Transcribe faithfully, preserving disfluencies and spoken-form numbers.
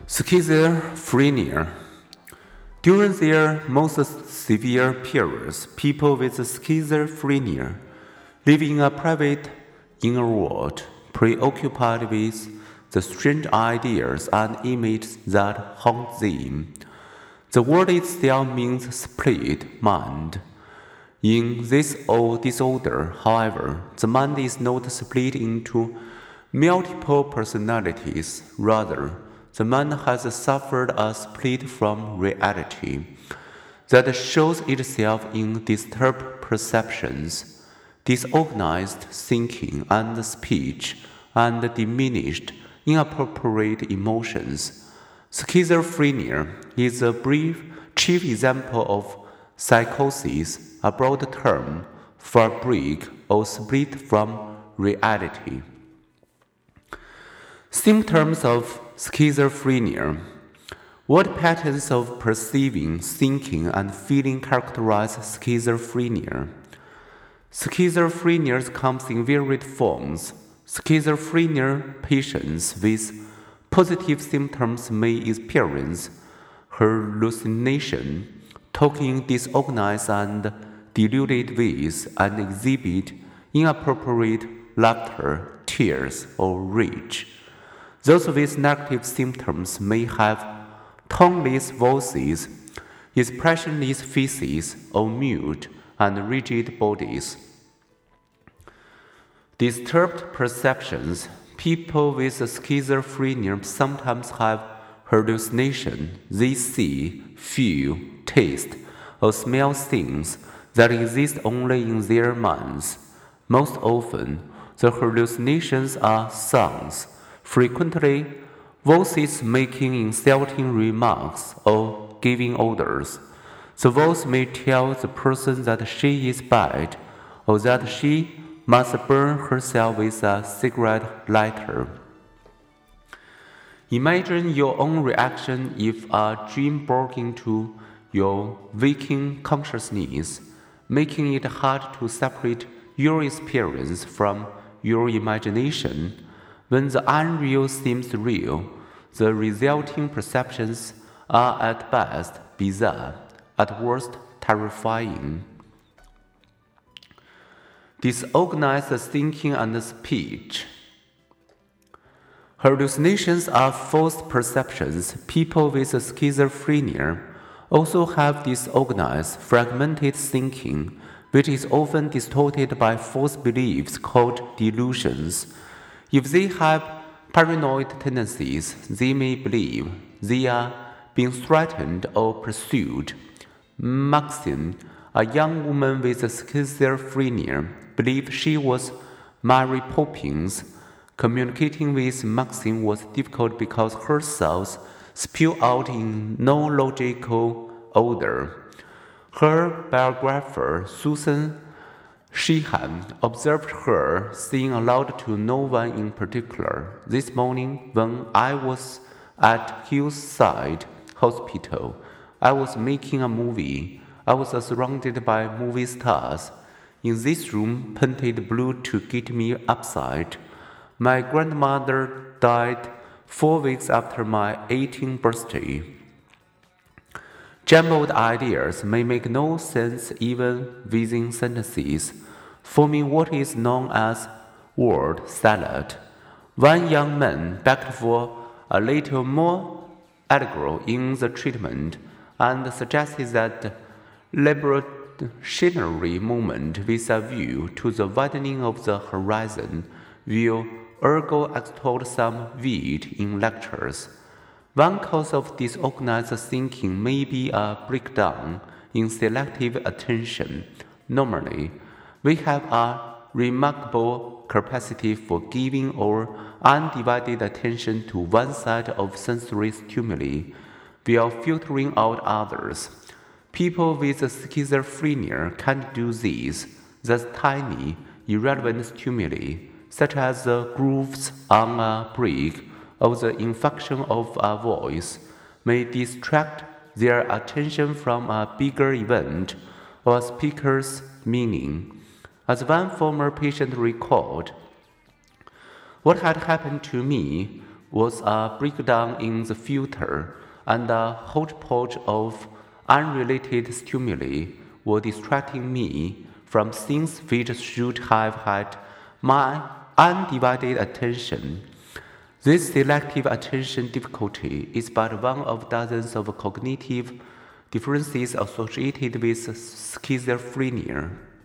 Schizophrenia. During their most severe periods, people with schizophrenia live in a private inner world, preoccupied with the strange ideas and images that haunt them. The word itself means split mind. In this old disorder, however, the mind is not split into multiple personalities. Rather, the mind has suffered a split from reality that shows itself in disturbed perceptions, disorganized thinking and speech, and diminished, inappropriate emotions. Schizophrenia is a brief chief example of psychosis, a broad term for break or split from reality. Symptoms of schizophrenia. What patterns of perceiving, thinking, and feeling characterize schizophrenia? Schizophrenia comes in varied forms. Schizophrenia patients with positive symptoms may experience hallucination, talking disorganized and deluded ways, and exhibit inappropriate laughter, tears, or rage. Those with negative symptoms may have toneless voices, expressionless faces, or mute and rigid bodies. Disturbed perceptions. People with schizophrenia sometimes have hallucination. They see, feel, taste, or smell things that exist only in their minds. Most often, the hallucinations are sounds, frequently voices making insulting remarks or giving orders. The voice may tell the person that she is bad or that she must burn herself with a cigarette lighter. Imagine your own reaction if a dream broke into your waking consciousness, making it hard to separate your experience from your imagination. When the unreal seems real, the resulting perceptions are at best bizarre, at worst terrifying. Disorganized thinking and speech. Hallucinations are false perceptions. People with schizophrenia also have disorganized, fragmented thinking, which is often distorted by false beliefs called delusions. If they have paranoid tendencies, they may believe they are being threatened or pursued. Maxine, a young woman with schizophrenia, believed she was Mary Poppins. Communicating with Maxine was difficult because her thoughts spewed out in no logical order. Her biographer, Susan Sheehan, observed her saying aloud to no one in particular, "This morning, when I was at Hillside Hospital, I was making a movie. I was surrounded by movie stars. In this room, painted blue to get me upset. My grandmother died four weeks after my eighteenth birthday." Jumbled ideas may make no sense even within sentences, forming what is known as word salad. One young man begged for a little more alcohol in the treatment and suggested that liberationary moment with a view to the widening of the horizon will ergo extort some wit in lectures. One cause of disorganized thinking may be a breakdown in selective attention. Normally, we have a remarkable capacity for giving our undivided attention to one side of sensory stimuli while filtering out others. People with schizophrenia can't do this. Thus, tiny, irrelevant stimuli, such as the grooves on a brick or the inflection of a voice, may distract their attention from a bigger event or a speaker's meaning. As one former patient recalled, "What had happened to me was a breakdown in the filter, and a hodgepodge of unrelated stimuli were distracting me from things which should have had my undivided attention. This selective attention difficulty is but one of dozens of cognitive differences associated with schizophrenia.